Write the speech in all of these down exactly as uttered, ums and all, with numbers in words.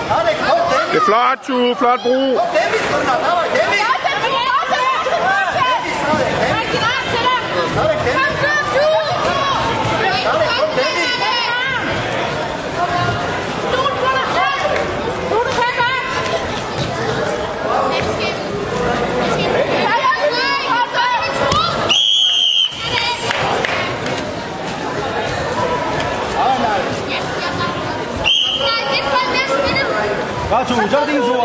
Det er flot, Tue. Flot brug. Godt, Tue. Så er det din tur.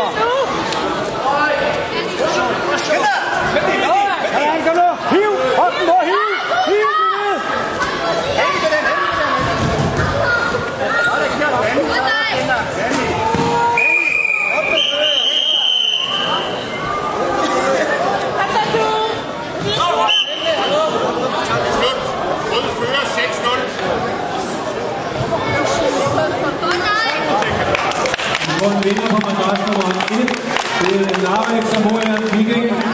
Kom nu. Hiv. Hold den på. Hiv. Hiv. Vinder på madras nummer et. Det er Narvik Samoa Viking.